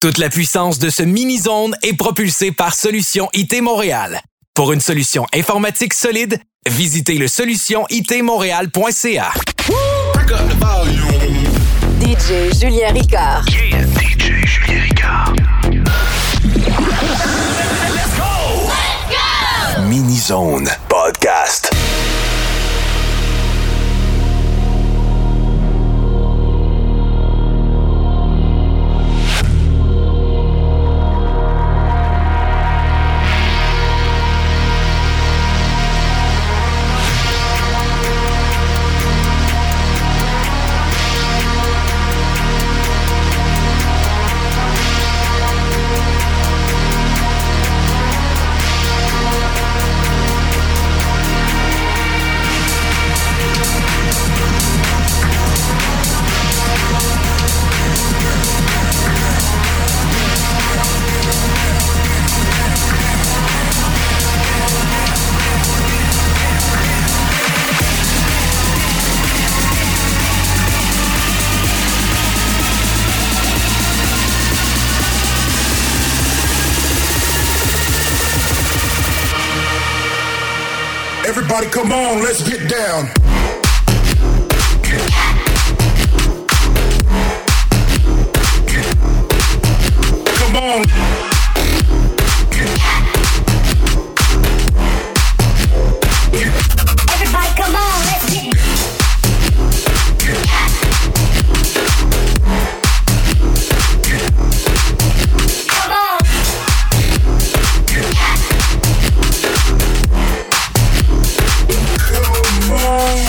Toute la puissance de ce mini-zone est propulsée par Solutions IT Montréal. Pour une solution informatique solide, visitez le solutionitmontréal.ca. DJ Julien Ricard. Yeah, DJ Julien Ricard. Let's go! Mini-zone podcast. Everybody come on, let's get down. Come on. Everybody come on, let's get Come on. Come on.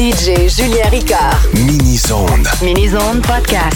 DJ Julien Ricard. Mini-Zone. Mini-Zone Podcast.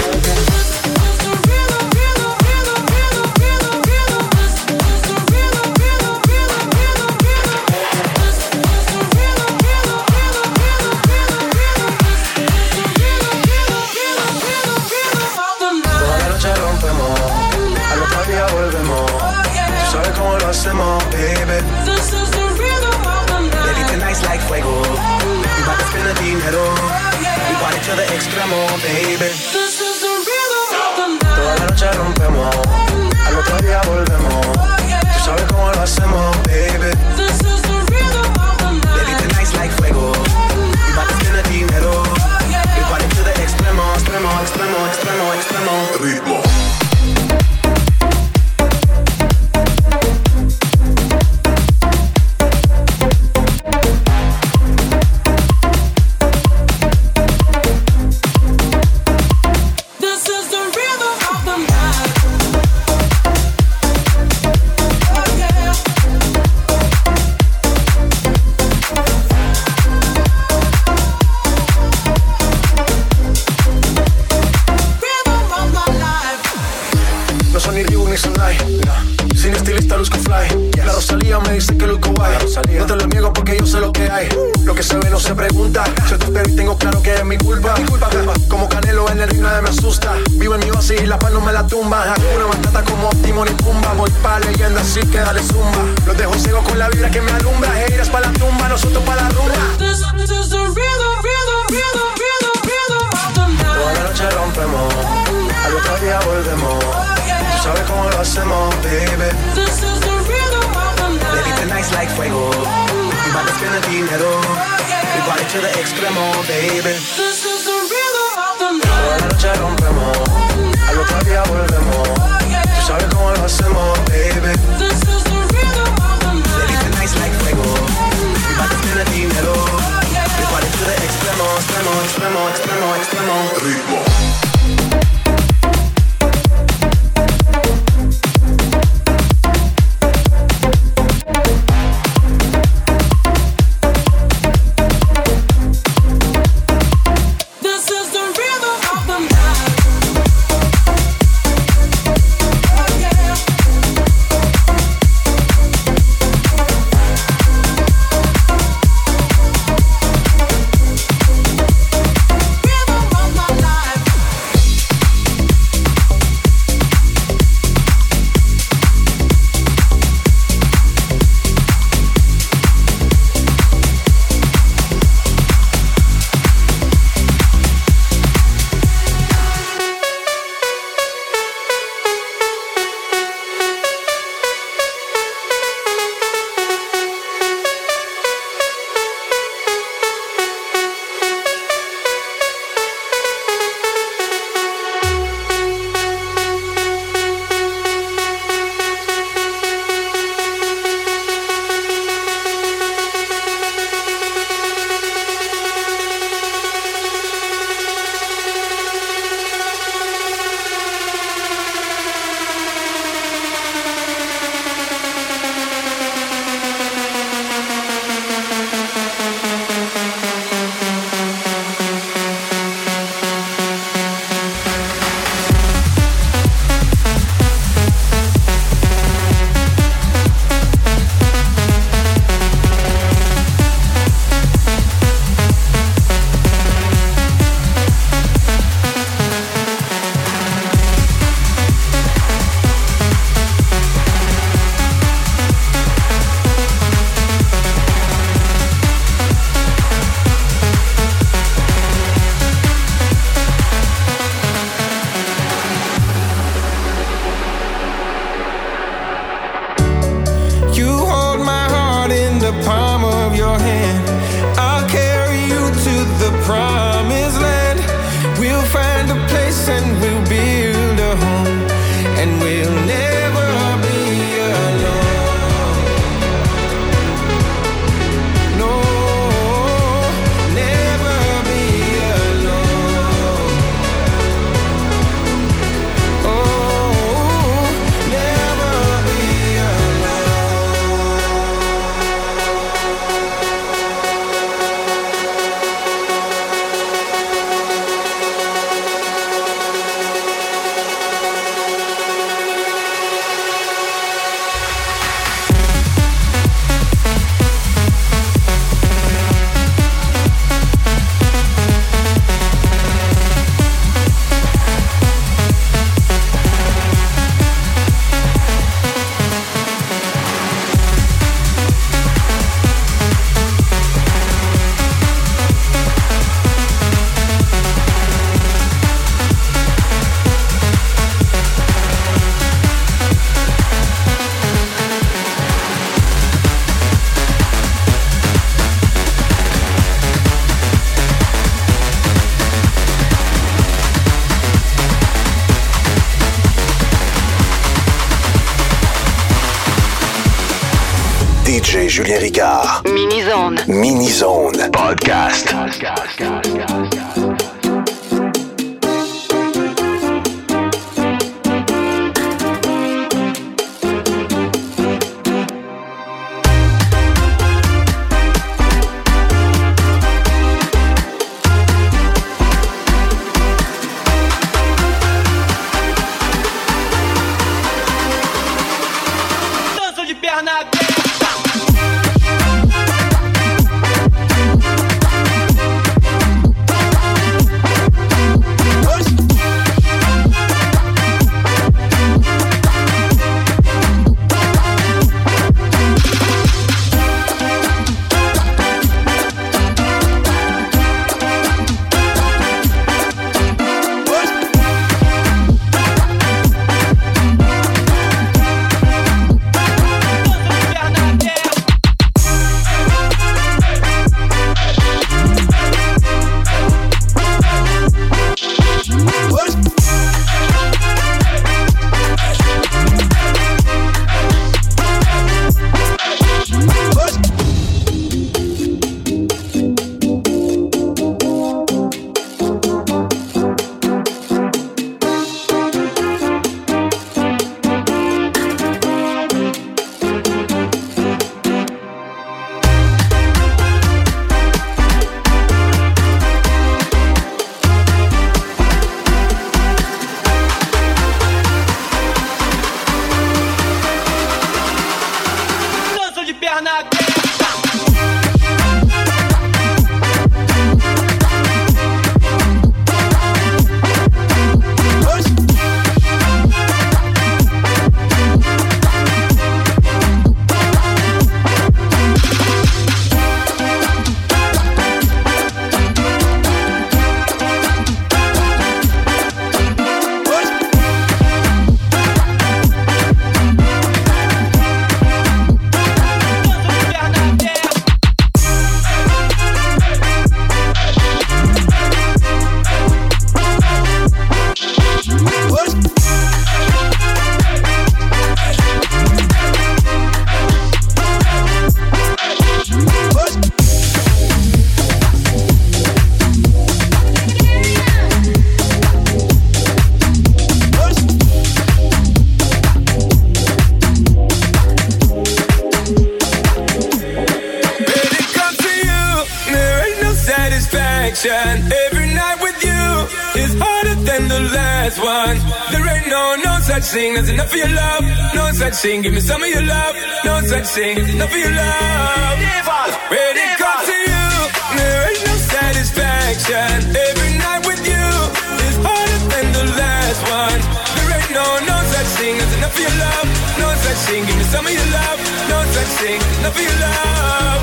Hacemos, baby. This is the rhythm of the night. Baby, tonight's like fuego. We bout to spend the dinero. We party to the extremo, baby. This is the rhythm of the night. Toda la noche rompemos. Al otro día volvemos. Tú sabes cómo lo hacemos, baby. This is the rhythm of the night. Baby, tonight's like fuego. We bout to spend the dinero. We party to the extremo, extremo, extremo, extremo, extremo. Ritmo. Así que dale zumba. Los dejo ciego con la vibra que me alumbra. Heiras pa' la tumba, nosotros pa' la rumba. This is the rhythm of the night. Toda la noche rompemos. Al otro día volvemos. Tú sabes cómo lo hacemos, baby. This is the rhythm of the night. Baby, tonight's like fuego. We bout to spend the dinero. We party to the extremo, baby. This is the rhythm of the night. Toda la noche rompemos. Al otro día volvemos. Tú sabes cómo lo hacemos, baby. This is the rhythm of the night. Baby, tonight's like fuego. We bout to spend the dinero. We party to the extremo, extremo, extremo, extremo, extremo. Ritmo. Rhythm of my life. Julien Ricard. Mini-zone. Mini-zone. Podcast. Every night with you is harder than the last one. There ain't no such thing as enough of your love. No such thing, give me some of your love. No such thing, enough of your love. When it comes to you, there ain't no satisfaction. Every night with you is harder than the last one. There ain't no such thing as enough of your love. No such thing, give me some of your love. No such thing, enough of your love.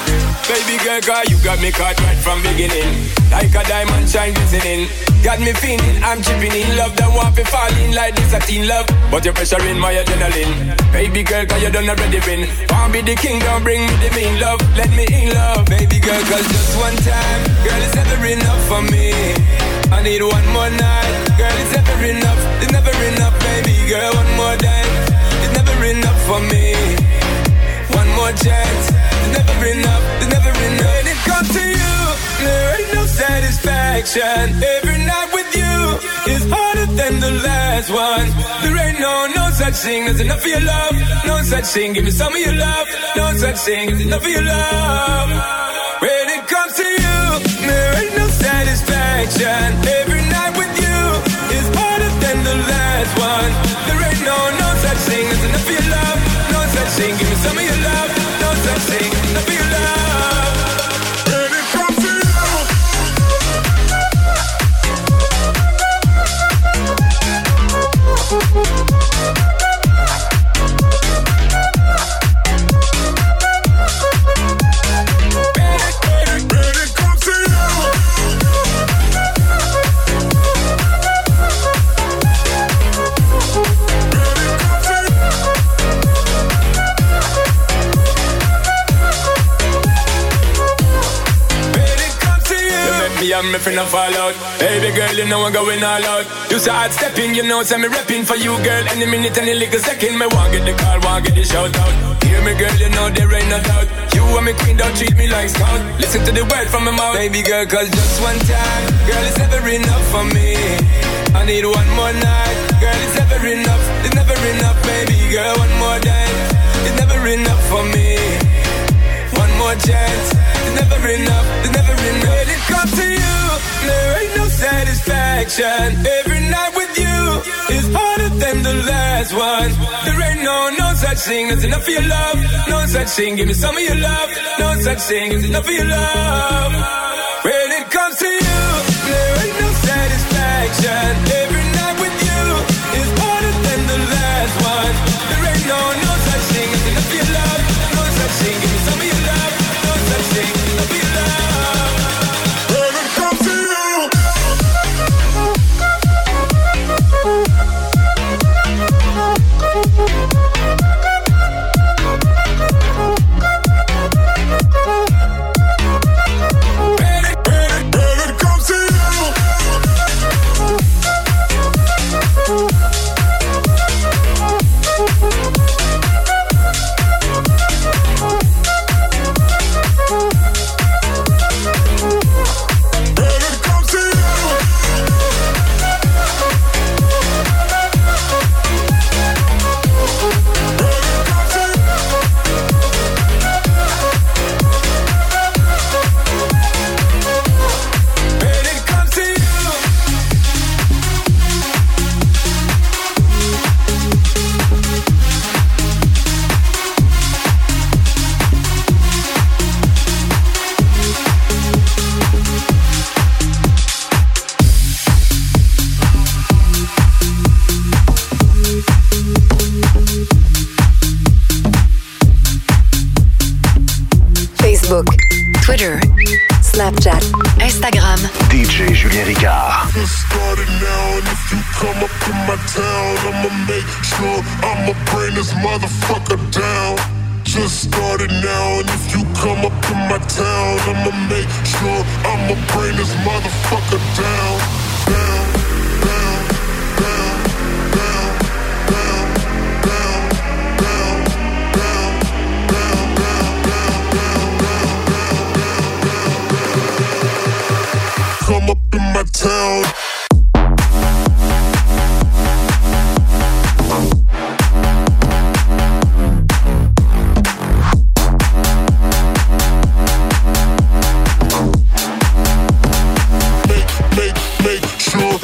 Baby girl, cause you got me caught right from beginning. Like a diamond shine glistening. Got me feeling, I'm chipping in love. That want to fall in like this a teen love. But you're pressuring my adrenaline. Baby girl, cause you done already win. Want be the king, don't bring me the mean love. Let me in love. Baby girl, cause just one time, girl, it's never enough for me. I need one more night. Girl, it's never enough. It's never enough, baby girl, one more time. It's never enough for me. One more chance. It's never enough, it's never enough. When it comes to you, there ain't no satisfaction. Every night with you is harder than the last one. There ain't no such thing as enough of your love. No such thing, give me some of your love. No such thing as enough of your love. When it comes to you, there ain't no satisfaction. Every night with you is harder than the last one. There ain't no such thing as enough of your love. No such thing, give me some of your love. No such thing, enough of your love. When it comes to you, I'm me finna fall out. Baby girl, you know I'm going all out. You start stepping, you know, say me repping for you, girl. Any minute, any little second, me want get the call, want get the shout out. Hear me, girl, you know there ain't no doubt. You and me queen, don't treat me like scout. Listen to the word from my mouth, baby girl, cause just one time, girl, it's never enough for me. I need one more night, girl, it's never enough. It's never enough, baby girl, one more dance. It's never enough for me. One more chance, it's never enough. It's never enough. When it comes to you, there ain't no satisfaction. Every night with you is harder than the last one. There ain't no such thing as enough for your love. No such thing, give me some of your love. No such thing as enough for your love. When it comes to you, there ain't no satisfaction. Every night with you is harder than the last one. There ain't no such thing as enough for your love. No such thing, give me some of your love. No such thing, enough for your love. When it comes to you. Twitter, Snapchat, Instagram. DJ Julien Ricard. Just started now, and if you come up in my town, I'ma make sure I'ma bring this motherfucker down. Just started now, and if you come up in my town, I'ma make sure I'ma bring this motherfucker down. Down, down, down, down, down, down, down, down, down, down, come up in my town. Make sure.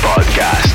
Podcast.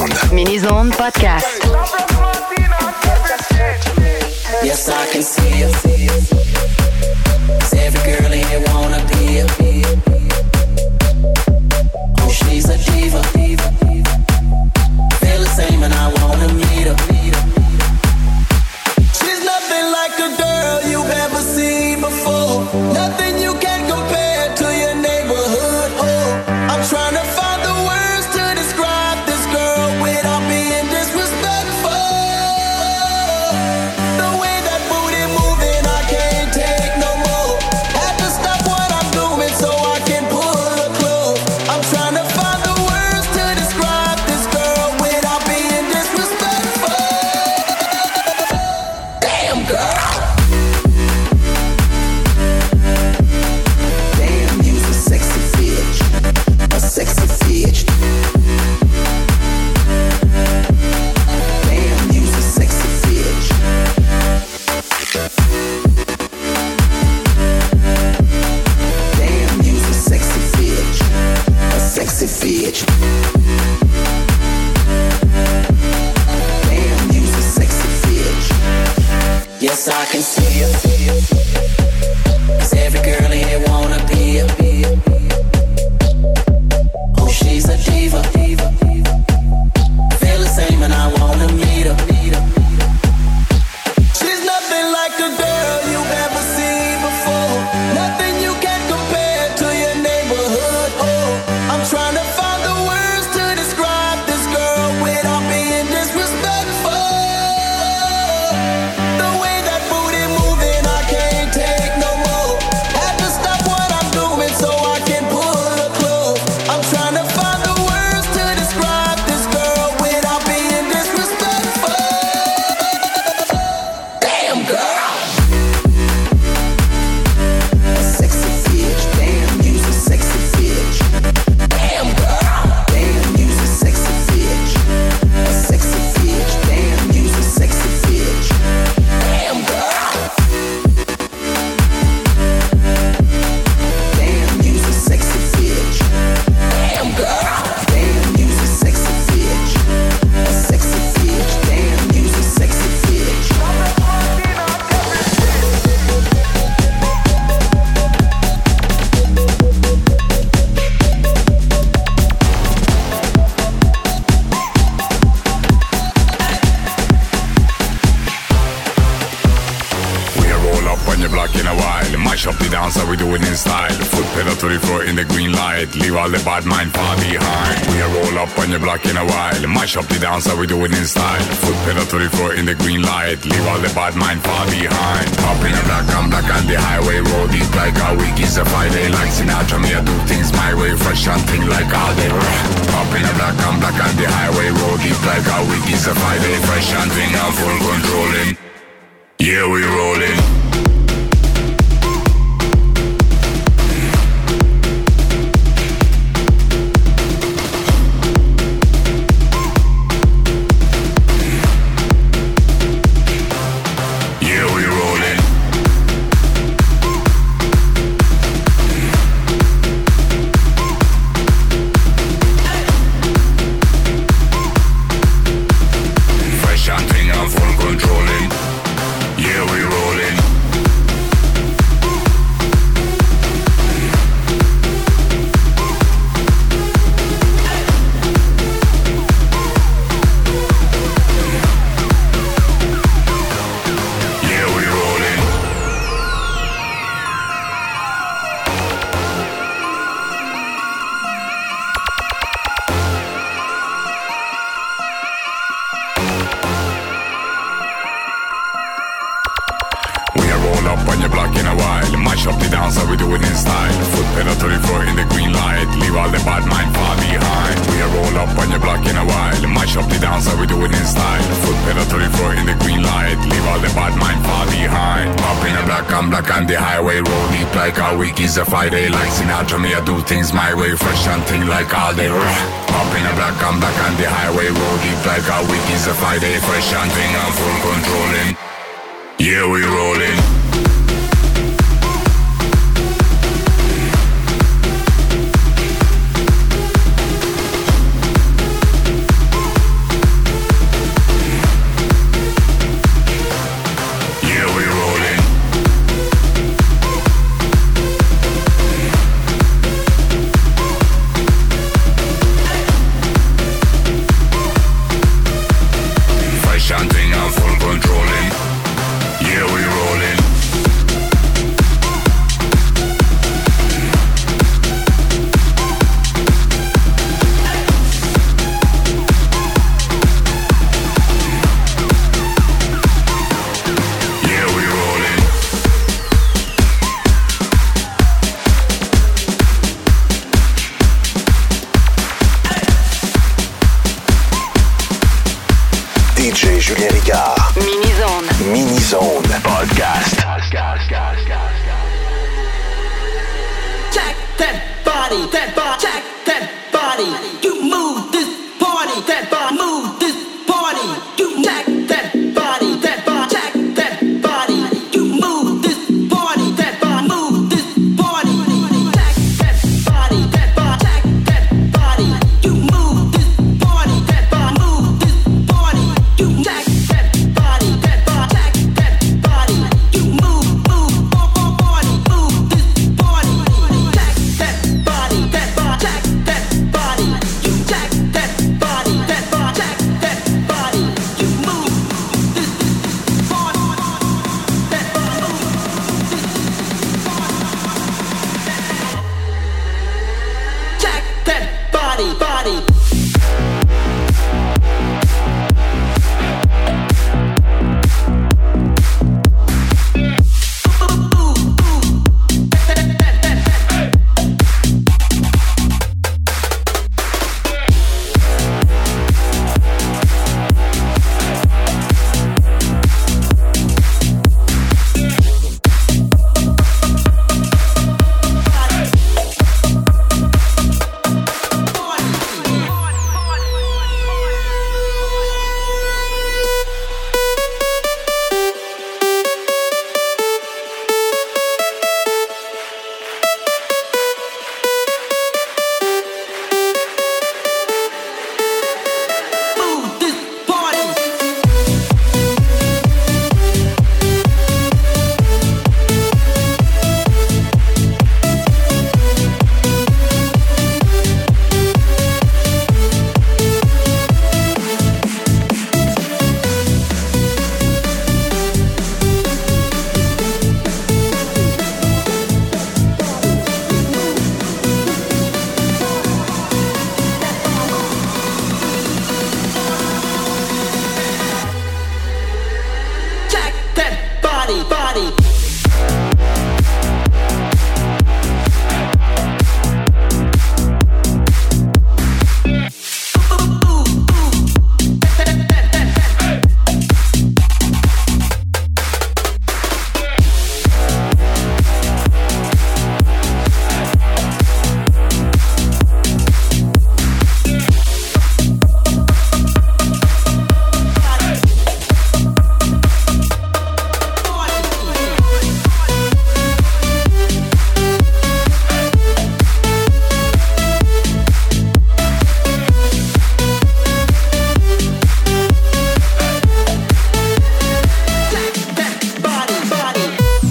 Mini-Zone. Mini-Zone Podcast. Yes, I can see you. 'Cause every girl in here wanna be you. Oh, she's a diva. Feel the same and I wanna meet her. She's nothing like a girl you've ever seen before. Nothing you can compare to your neighborhood. Oh, I'm trying to find the words to describe this girl without being disrespectful. The way that booty moving, I can't take no more. Have to stop what I'm doing so I can pull her close. I'm trying to find the words to describe this girl without being disrespectful. Damn girl. Damn, you's a sexy bitch. A sexy bitch. Damn, you's a sexy bitch. Damn, you's a sexy bitch. A sexy bitch. Damn, you's a sexy bitch. Yes, I can see you. 'Cause every girl in here wanna be you. Oh, she's a diva. Feel the same and I wanna meet her. She's nothing like a girl you've ever seen before. Nothing you can compare to your neighborhood. Oh, I'm trying to find the words to describe this girl without being disrespectful. The way that booty moving, I can't take no more. Have to stop what I'm doing so I can pull her close. I'm trying to find the words to describe this girl without being disrespectful. Damn girl. A sexy bitch. Damn, you's a sexy bitch. Damn girl. Damn, you's a sexy bitch. A sexy bitch. Damn, you's a sexy bitch. Damn girl. Damn, you's a sexy bitch. Damn girl. Damn, you's a sexy bitch. A sexy bitch. Damn, you's a sexy bitch. We roll up on your block in a while. Mash up the dance, how we do it in style. Foot pedal to the floor in the green light. Leave all the bad mind far behind. We roll up on your block in a while. Mash up the dance, how we do it in style. Foot pedal to the floor in the green light. Leave all the bad mind far behind. Up in a black, I'm black on the highway. Roll deep like a week is a Friday. Like Sinatra, me I do things my way. Fresh and thing like all day. Up in a black, I'm black on the highway. Roll deep like a week is a Friday. Fresh and thing, I'm full controlling. Yeah, we rolling. Yeah, we rolling. Fresh and thing, I'm full controlling. Yeah, we rolling. Yeah, we rolling. We roll up on your block in a while. Mash up the dance, how we do it in style. Foot pedal to the floor in the green light. Leave all the bad mind far behind. We roll up on your block in a while. Mash up the dance, how we do it in style. Foot pedal to the floor in the green light. Leave all the bad mind far behind. Up in a black, I'm black on the highway. Roll deep like a week is a Friday. Like Sinatra, me I do things my way. Fresh and thing like all day. Up in a black, I'm black on the highway. Roll deep like a week is a Friday. Fresh and thing, I'm full controlling. Yeah, we rolling. DJ Julien Ricard. Mini-zone. Mini-zone. Podcast. Check that body, check that body. You move this party, that body, move this party. You check that body, check that body. You move this party, that body, move this party. Check that body, check that body. You move this party, that body, move this party. You check that body, check that body. You move party, move this party. Check that body, check that body. You check that body, check that body. You move this party, that body, check that body. Move this party. Check that body. Check that body.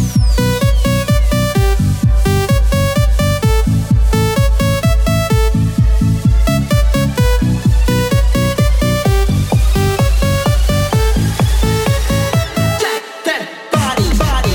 Check that body.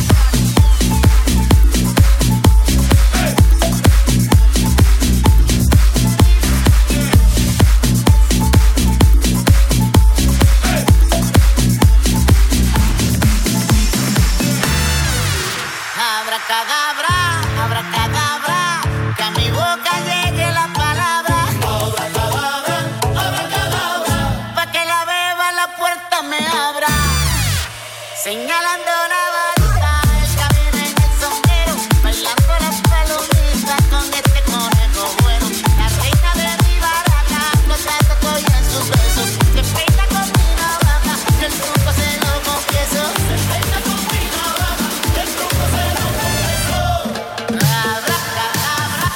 Abracadabra, abracadabra, que a mi boca llegue la palabra. Abracadabra, abracadabra, pa' que la beba la puerta me abra. Señalando la varita, el camino en el sombrero, bailando las palomitas con este conejo bueno. La reina de mi baraja, gozando estoy en sus besos. Se peina con mi navaja, que el truco se lo confieso. Se peina con mi navaja, que el truco se lo confieso. Abracadabra.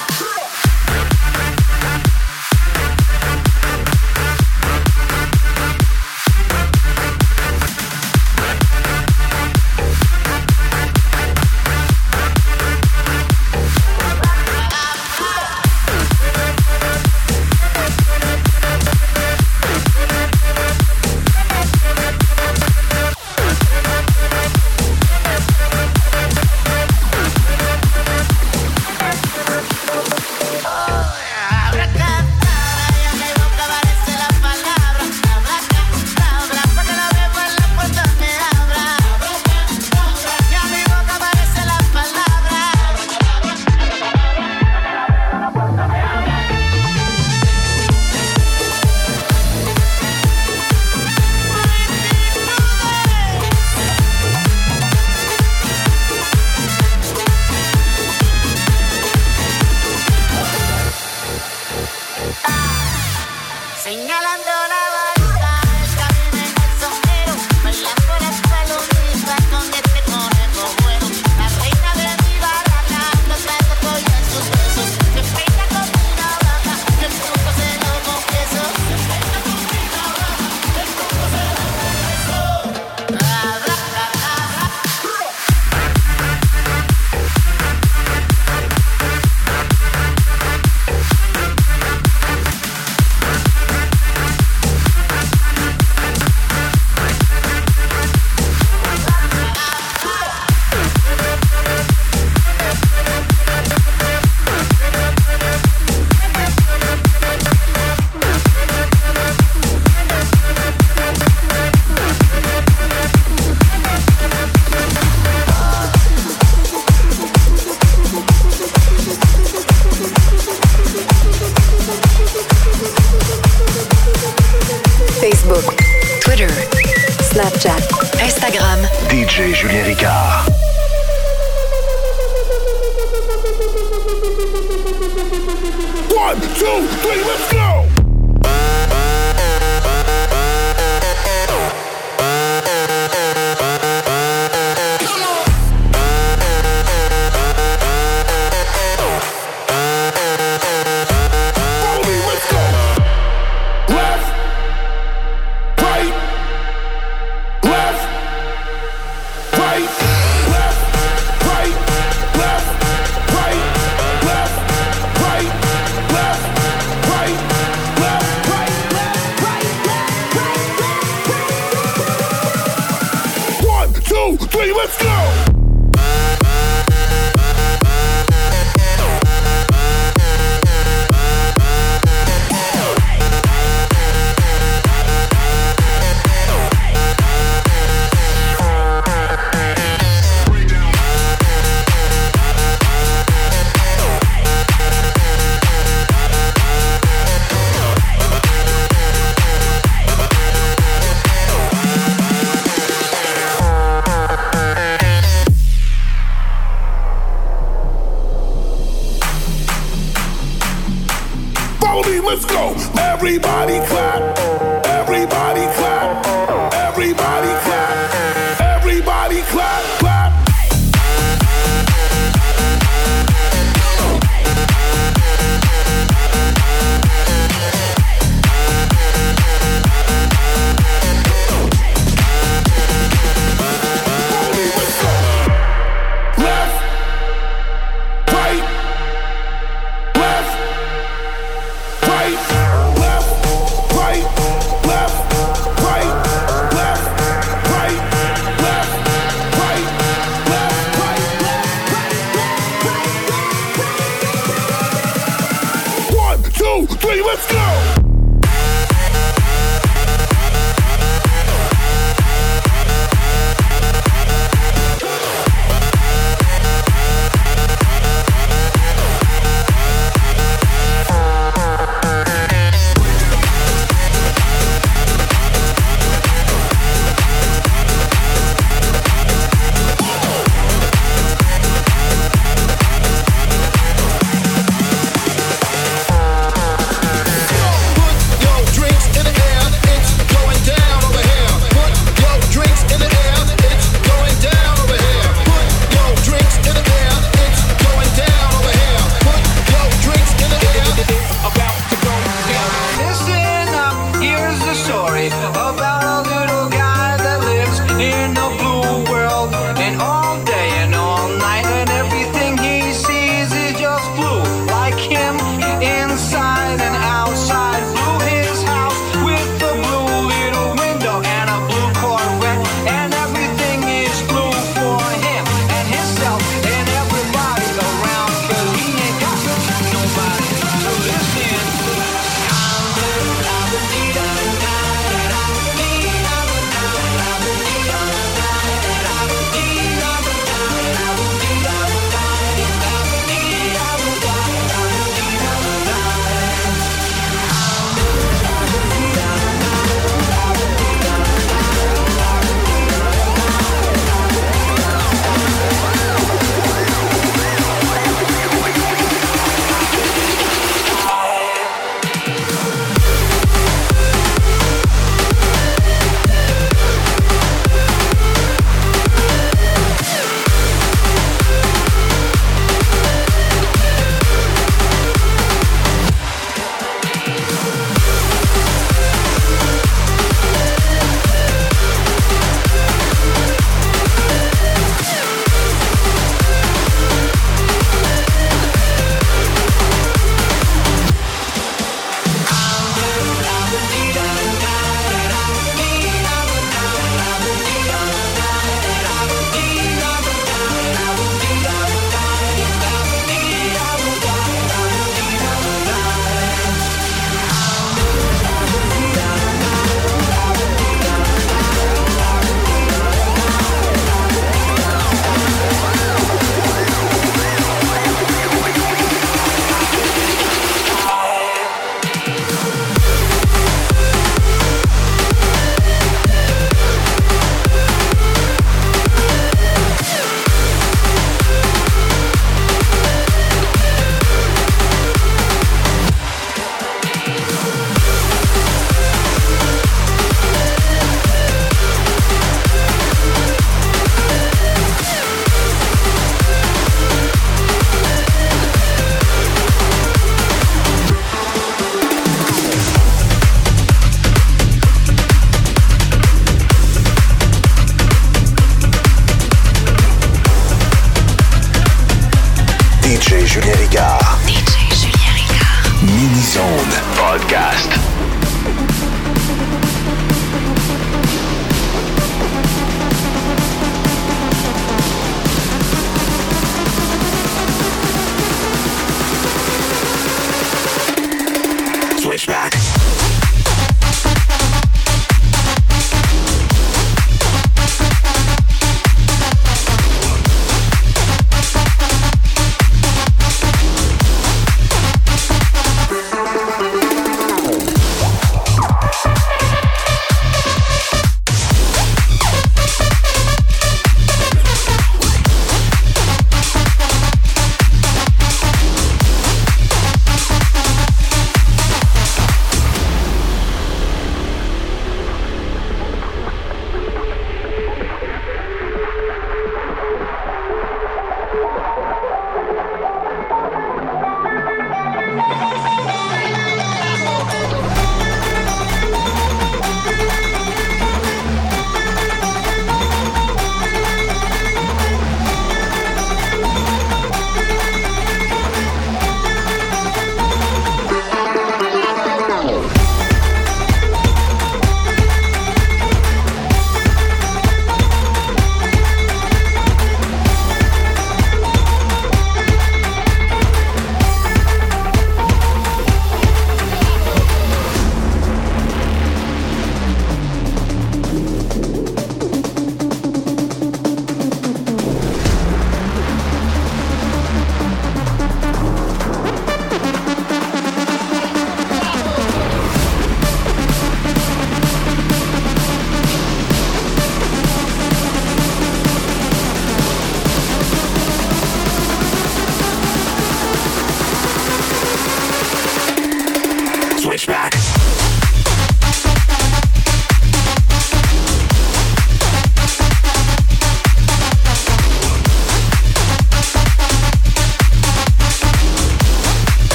Facebook, Twitter, Snapchat, Instagram. DJ Julien Ricard. One, two, three, let's go! Let's go! Let's go! Everybody clap! Everybody clap! Everybody clap! Everybody clap! Clap! Let's go! Left! Right! Left! Right, left, right, left, right, left, right, left, right, left, right, left, right. 1, 2, 3, let's go!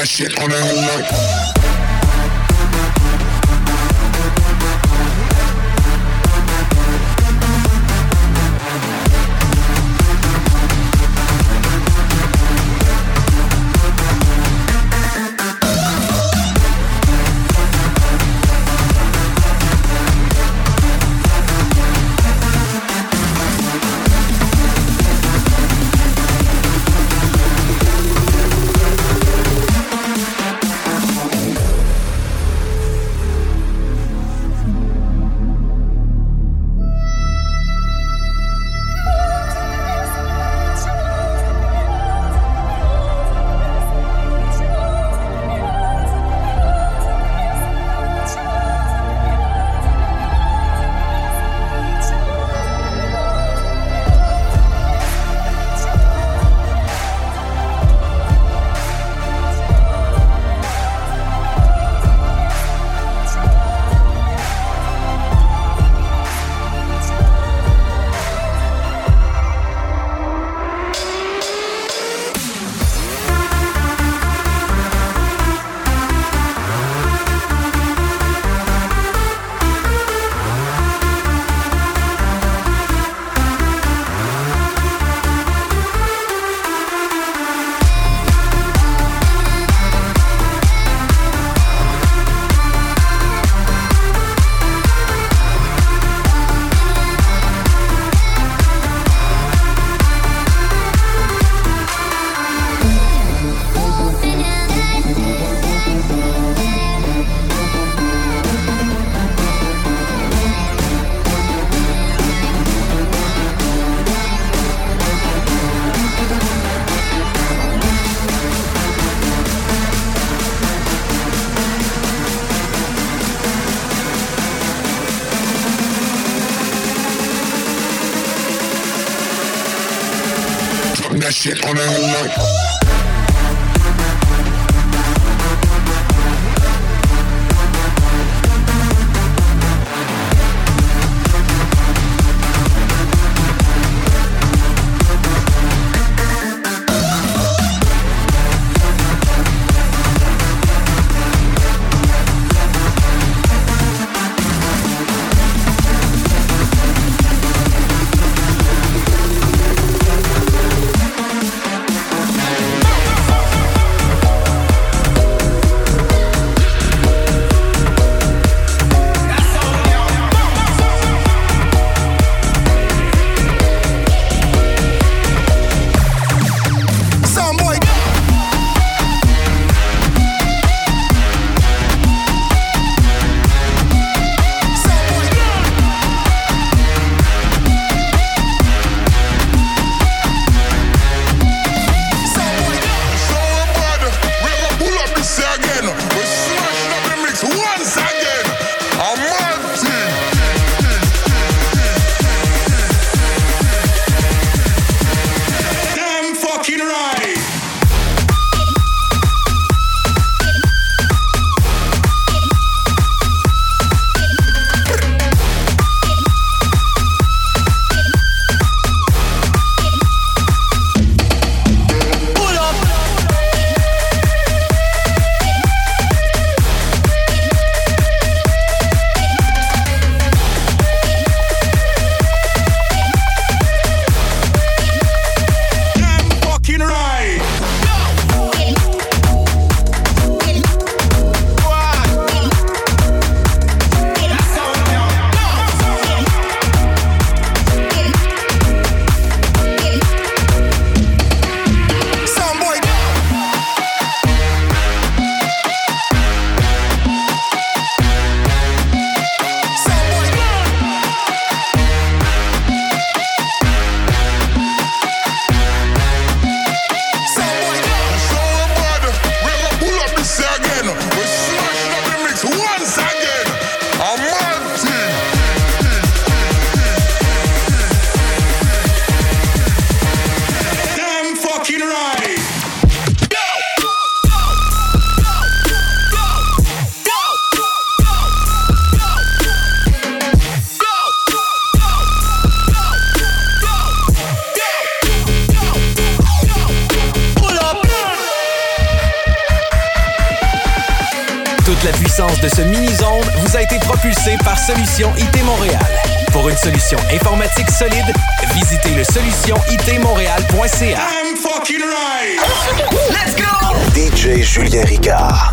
that shit on the headlight. That shit on the headlight. Toute la puissance de ce mini-zone vous a été propulsée par Solution IT Montréal. Pour une solution informatique solide, visitez le solutionitmontréal.ca. I'm fucking right. Let's go! DJ Julien Ricard.